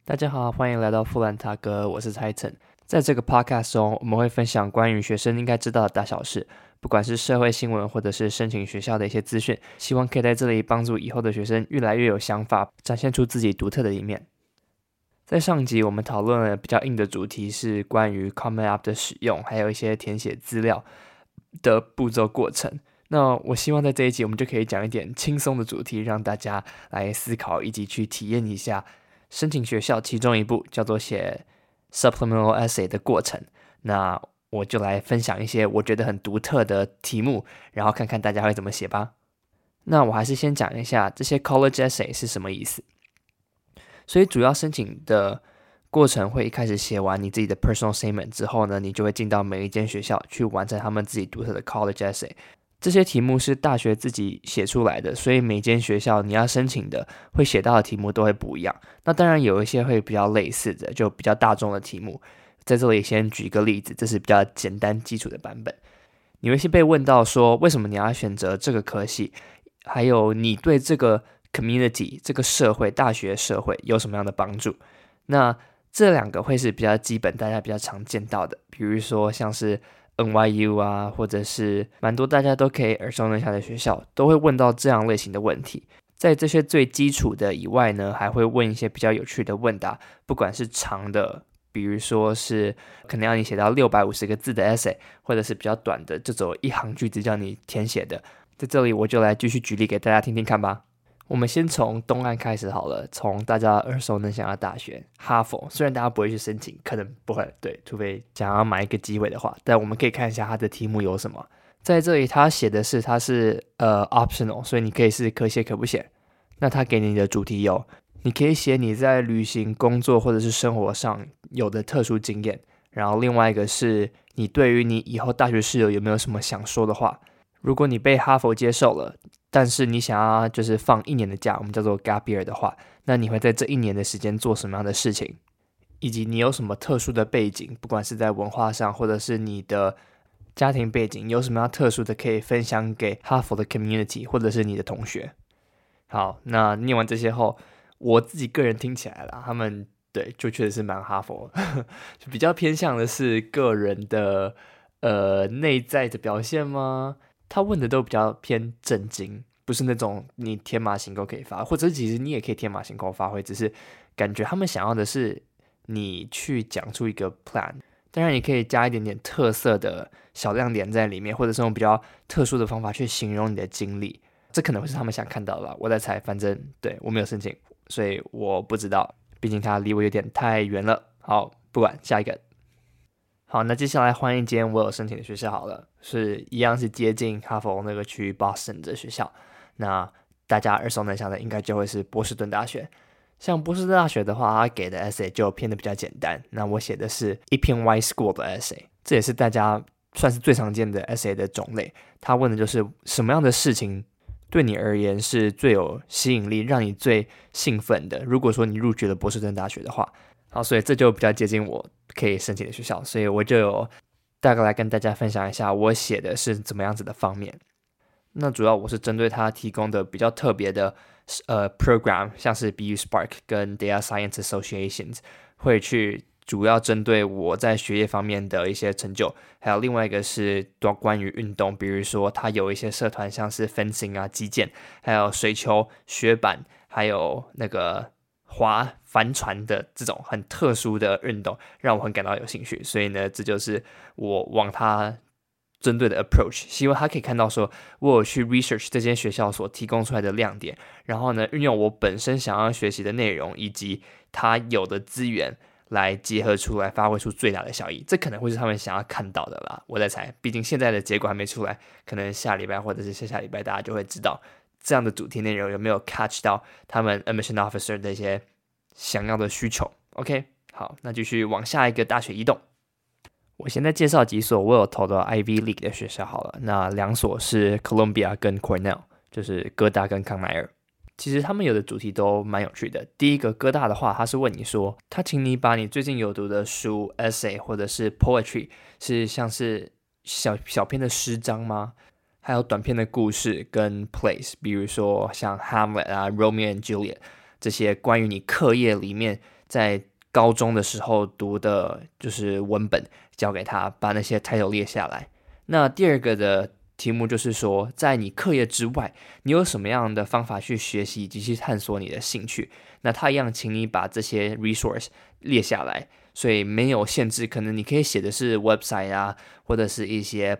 大家好，欢迎来到富兰塔哥，我是蔡晨。在这个 podcast 中，我们会分享关于学生应该知道的大小事，不管是社会新闻或者是申请学校的一些资讯，希望可以在这里帮助以后的学生越来越有想法，展现出自己独特的一面。在上集我们讨论了比较硬的主题，是关于 Common App 的使用，还有一些填写资料的步骤过程。那我希望在这一集我们就可以讲一点轻松的主题，让大家来思考以及去体验一下申请学校其中一步叫做写 supplemental essay 的过程。那我就来分享一些我觉得很独特的题目，然后看看大家会怎么写吧。那我还是先讲一下这些 college essay 是什么意思。所以主要申请的过程会一开始写完你自己的 personal statement 之后呢，你就会进到每一间学校去完成他们自己独特的 college essay。这些题目是大学自己写出来的，所以每间学校你要申请的会写到的题目都会不一样。那当然有一些会比较类似的，就比较大众的题目。在这里先举一个例子，这是比较简单基础的版本。你会先被问到说，为什么你要选择这个科系，还有你对这个 community 这个社会大学社会有什么样的帮助。那这两个会是比较基本大家比较常见到的，比如说像是NYU 啊，或者是蛮多大家都可以耳熟能详的学校，都会问到这样类型的问题。在这些最基础的以外呢，还会问一些比较有趣的问答，不管是长的，比如说是可能要你写到650个字的 essay， 或者是比较短的，这种一行句子叫你填写的。在这里我就来继续举例给大家听听看吧。我们先从东岸开始好了，从大家耳熟能详的大学哈佛，虽然大家不会去申请，可能不会，对，除非想要买一个机会的话，但我们可以看一下它的题目有什么。在这里他写的是它是optional， 所以你可以是可写可不写。那他给你的主题有，你可以写你在旅行、工作或者是生活上有的特殊经验，然后另外一个是你对于你以后大学室友有没有什么想说的话。如果你被哈佛接受了，但是你想要就是放1年的假，我们叫做 gap year 的话，那你会在这1年的时间做什么样的事情，以及你有什么特殊的背景，不管是在文化上或者是你的家庭背景，有什么样特殊的可以分享给哈佛的 community 或者是你的同学。好，那念完这些后，我自己个人听起来啦，他们对就确实是蛮哈佛就比较偏向的是个人的内在的表现吗？他问的都比较偏正经，不是那种你天马行空可以发挥，或者其实你也可以天马行空发挥，只是感觉他们想要的是你去讲出一个 plan。当然，你可以加一点点特色的小亮点在里面，或者是用比较特殊的方法去形容你的经历，这可能会是他们想看到的吧。我在猜，反正对我没有申请，所以我不知道，毕竟它离我有点太远了。好，不管，下一个。好，那接下来换一间我有申请的学校好了，是一样是接近哈佛那个区 Boston 的学校。那大家耳熟能详的应该就会是波士顿大学。像波士顿大学的话，它给的 essay 就偏的比较简单。那我写的是一篇 Y School 的 essay， 这也是大家算是最常见的 essay 的种类。他问的就是什么样的事情对你而言是最有吸引力，让你最兴奋的。如果说你入学了波士顿大学的话，好，所以这就比较接近我可以申请的学校，所以我就有大概来跟大家分享一下我写的是怎么样子的方面。那主要我是针对他提供的比较特别的program， 像是 BU Spark 跟 Data Science Associations， 会去主要针对我在学业方面的一些成就，还有另外一个是关于运动，比如说他有一些社团像是 fencing 啊、击剑，还有水球、雪板，还有那个划帆船的这种很特殊的运动，让我很感到有兴趣。所以呢，这就是我往他针对的 approach， 希望他可以看到说我有去 research 这间学校所提供出来的亮点，然后呢，运用我本身想要学习的内容以及他有的资源来结合出来，发挥出最大的效益。这可能会是他们想要看到的啦，我在猜。毕竟现在的结果还没出来，可能下礼拜或者是下礼拜大家就会知道这样的主题内容有没有 catch 到他们 admission officer 的一些想要的需求。 OK， 好，那继续往下一个大学移动。我现在介绍几所我有投的 Ivy League 的学校好了。那2所是 Columbia 跟 Cornell， 就是哥大跟康奈尔。其实他们有的主题都蛮有趣的。第一个哥大的话，他是问你说，他请你把你最近有读的书 essay 或者是 poetry， 是像是小篇的诗章吗？还有短篇的故事跟 plays， 比如说像 Hamlet 啊、Romeo and Juliet 这些关于你课业里面在高中的时候读的就是文本交给他，把那些 title 列下来。那第二个的题目就是说，在你课业之外，你有什么样的方法去学习以及去探索你的兴趣？那他一样，请你把这些 resource 列下来，所以没有限制，可能你可以写的是 website 啊，或者是一些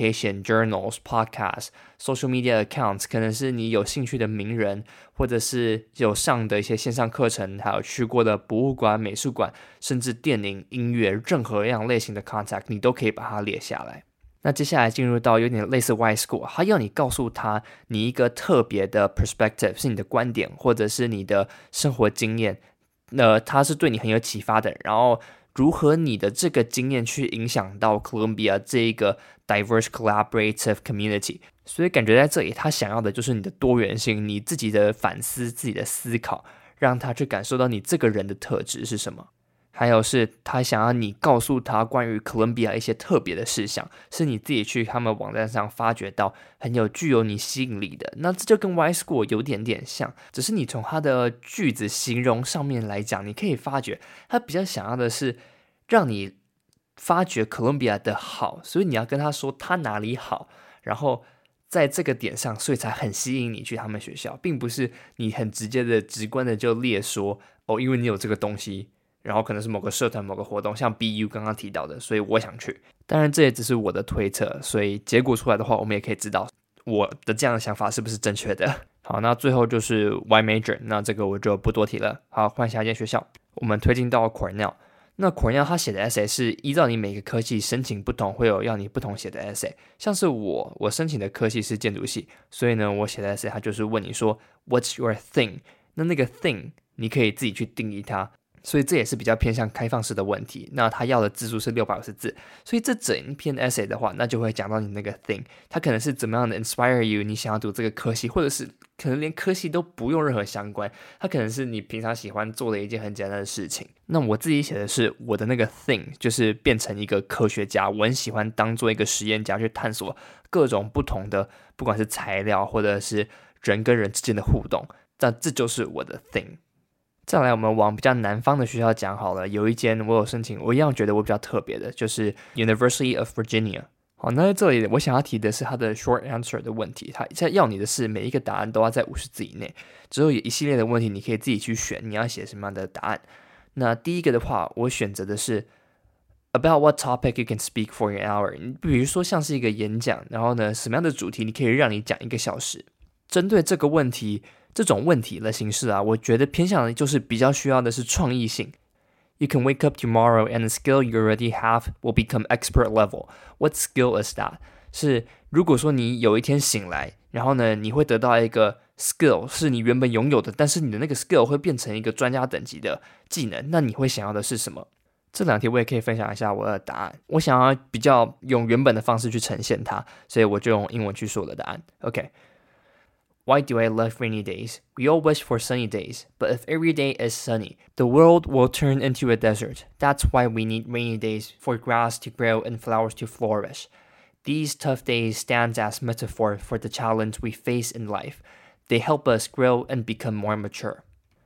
publication、journals、podcast、social media accounts，可能是你有兴趣的名人，或者是有上的一些线上课程，还有去过的博物馆、美术馆，甚至电影、音乐，任何样类型的 contact，你都可以把它列下来。那接下来进入到有点类似 Y School， 他要你告诉他你一个特别的 perspective， 是你的观点或者是你的生活经验，它是对你很有启发的，然后如何你的这个经验去影响到 Columbia 这一个 diverse collaborative community。 所以感觉在这里他想要的就是你的多元性，你自己的反思，自己的思考，让他去感受到你这个人的特质是什么。还有是他想要你告诉他关于哥伦比亚一些特别的事项，是你自己去他们网站上发掘到具有你吸引力的。那这就跟 Y School 有点像，只是你从他的句子形容上面来讲，你可以发觉他比较想要的是让你发掘哥伦比亚的好，所以你要跟他说他哪里好，然后在这个点上，所以才很吸引你去他们学校，并不是你很直接的直观的就列说因为你有这个东西，然后可能是某个社团某个活动，像 BU 刚刚提到的，所以我想去。当然这也只是我的推测，所以结果出来的话，我们也可以知道我的这样的想法是不是正确的。好，那最后就是 Y Major， 那这个我就不多提了。好，换下一间学校，我们推进到 Cornell。那 Cornell 他写的 essay 是依照你每个科系申请不同，会有要你不同写的 essay。像是我申请的科系是建筑系，所以呢，我写的 essay 他就是问你说 What's your thing？ 那个 thing 你可以自己去定义它。所以这也是比较偏向开放式的问题。那他要的字数是650字，所以这整篇 essay 的话，那就会讲到你那个 thing， 它可能是怎么样的 inspire you， 你想要读这个科系，或者是可能连科系都不用任何相关，它可能是你平常喜欢做的一件很简单的事情。那我自己写的是我的那个 thing， 就是变成一个科学家，我很喜欢当做一个实验家去探索各种不同的，不管是材料或者是人跟人之间的互动，那这就是我的 thing。再来我们往比较南方的学校讲好了，有一间我有申请，我一样觉得我比较特别的，就是 University of Virginia。 好，那在这里我想要提的是它的 short answer 的问题，它要你的是每一个答案都要在50字以内，之后有一系列的问题你可以自己去选你要写什么样的答案。那第一个的话，我选择的是 About what topic you can speak for an hour， 比如说像是一个演讲，然后呢什么样的主题你可以让你讲1个小时。针对这个问题，这种问题的形式啊，我觉得偏向的就是比较需要的是创意性。You can wake up tomorrow and the skill you already have will become expert level. What skill is that? 是如果说你有一天醒来，然后呢，你会得到一个 skill 是你原本拥有的，但是你的那个 skill 会变成一个专家等级的技能，那你会想要的是什么？这2题我也可以分享一下我的答案。我想要比较用原本的方式去呈现它，所以我就用英文去说我的答案。OK。Why do I love rainy days? We all wish for sunny days, but if every day is sunny, the world will turn into a desert. That's why we need rainy days for grass to grow and flowers to flourish. These tough days stand as metaphor for the challenge we face in life. They help us grow and become more mature.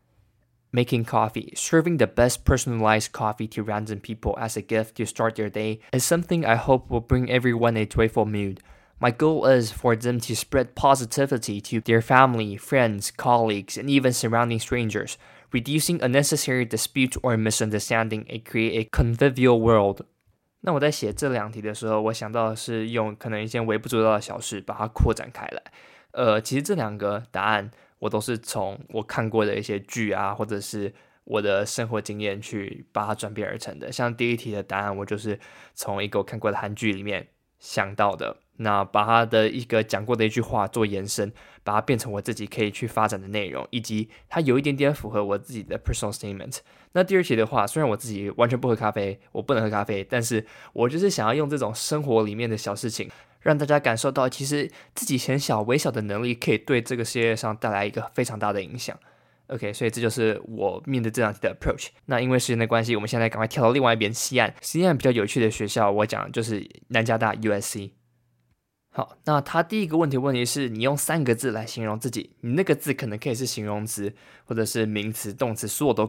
Making coffee, serving the best personalized coffee to random people as a gift to start their day, is something I hope will bring everyone a joyful mood.My goal is for them to spread positivity to their family, friends, colleagues, and even surrounding strangers, reducing unnecessary dispute or misunderstanding and create a convivial world. 那我在写这2题的时候，我想到的是用可能一件微不足道的小事把它扩展开来。其实这2个答案我都是从我看过的一些剧啊，或者是我的生活经验去把它转变而成的。像第1题的答案，我就是从一个我看过的韩剧里面想到的。那把他的一个讲过的一句话做延伸，把它变成我自己可以去发展的内容，以及它有一点点符合我自己的 personal statement。那第2题的话，虽然我自己完全不喝咖啡，我不能喝咖啡，但是我就是想要用这种生活里面的小事情，让大家感受到其实自己很小微小的能力可以对这个世界上带来一个非常大的影响。OK， 所以这就是我面对这2题的 approach。那因为时间的关系，我们现在赶快跳到另外一边西岸。西岸比较有趣的学校，我讲的就是南加大 USC。好，那他第一个问题是你用3个字来形容自己，你那个字可能可以是形容词或者是名词动词，所有都可以。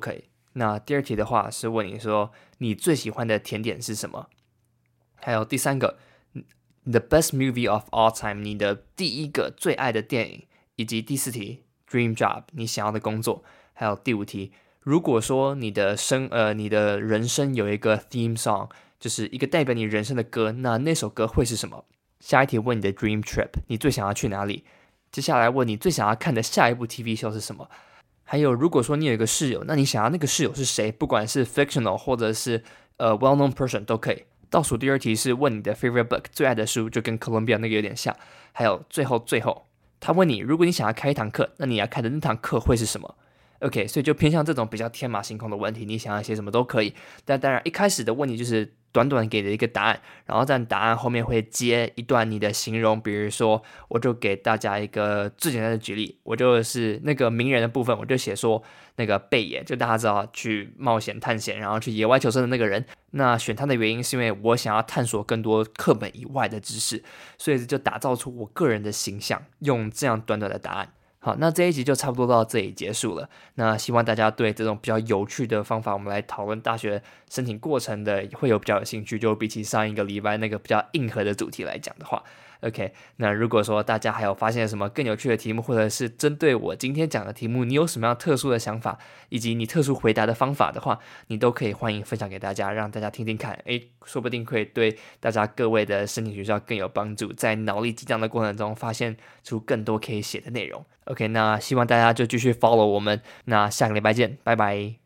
那第二题的话是问你说你最喜欢的甜点是什么？还有第三个，The best movie of all time， 你的第一个最爱的电影，以及第四题 Dream job， 你想要的工作，还有第五题，如果说你的人生有一个 theme song， 就是一个代表你人生的歌，那首歌会是什么？下一题问你的 dream trip， 你最想要去哪里？接下来问你最想要看的下一部 TV show 是什么？还有，如果说你有一个室友，那你想要那个室友是谁？不管是 fictional 或者是well-known person 都可以。倒数第二题是问你的 favorite book， 最爱的书，就跟 Columbia 那个有点像。还有最后，他问你，如果你想要开一堂课，那你要开的那堂课会是什么？OK， 所以就偏向这种比较天马行空的问题，你想要写什么都可以。但当然，一开始的问题就是短短给的一个答案，然后在答案后面会接一段你的形容，比如说，我就给大家一个最简单的举例，我就是那个名人的部分，我就写说那个贝爷，就大家知道去冒险探险，然后去野外求生的那个人。那选他的原因是因为我想要探索更多课本以外的知识，所以就打造出我个人的形象，用这样短短的答案。好，那这一集就差不多到这里结束了。那希望大家对这种比较有趣的方法，我们来讨论大学申请过程的，会有比较有兴趣。就比起上一个礼拜那个比较硬核的主题来讲的话，OK， 那如果说大家还有发现什么更有趣的题目，或者是针对我今天讲的题目，你有什么样特殊的想法，以及你特殊回答的方法的话，你都可以欢迎分享给大家，让大家听听看，说不定会对大家各位的申请学校更有帮助，在脑力激荡的过程中发现出更多可以写的内容。OK， 那希望大家就继续 follow 我们，那下个礼拜见，拜拜。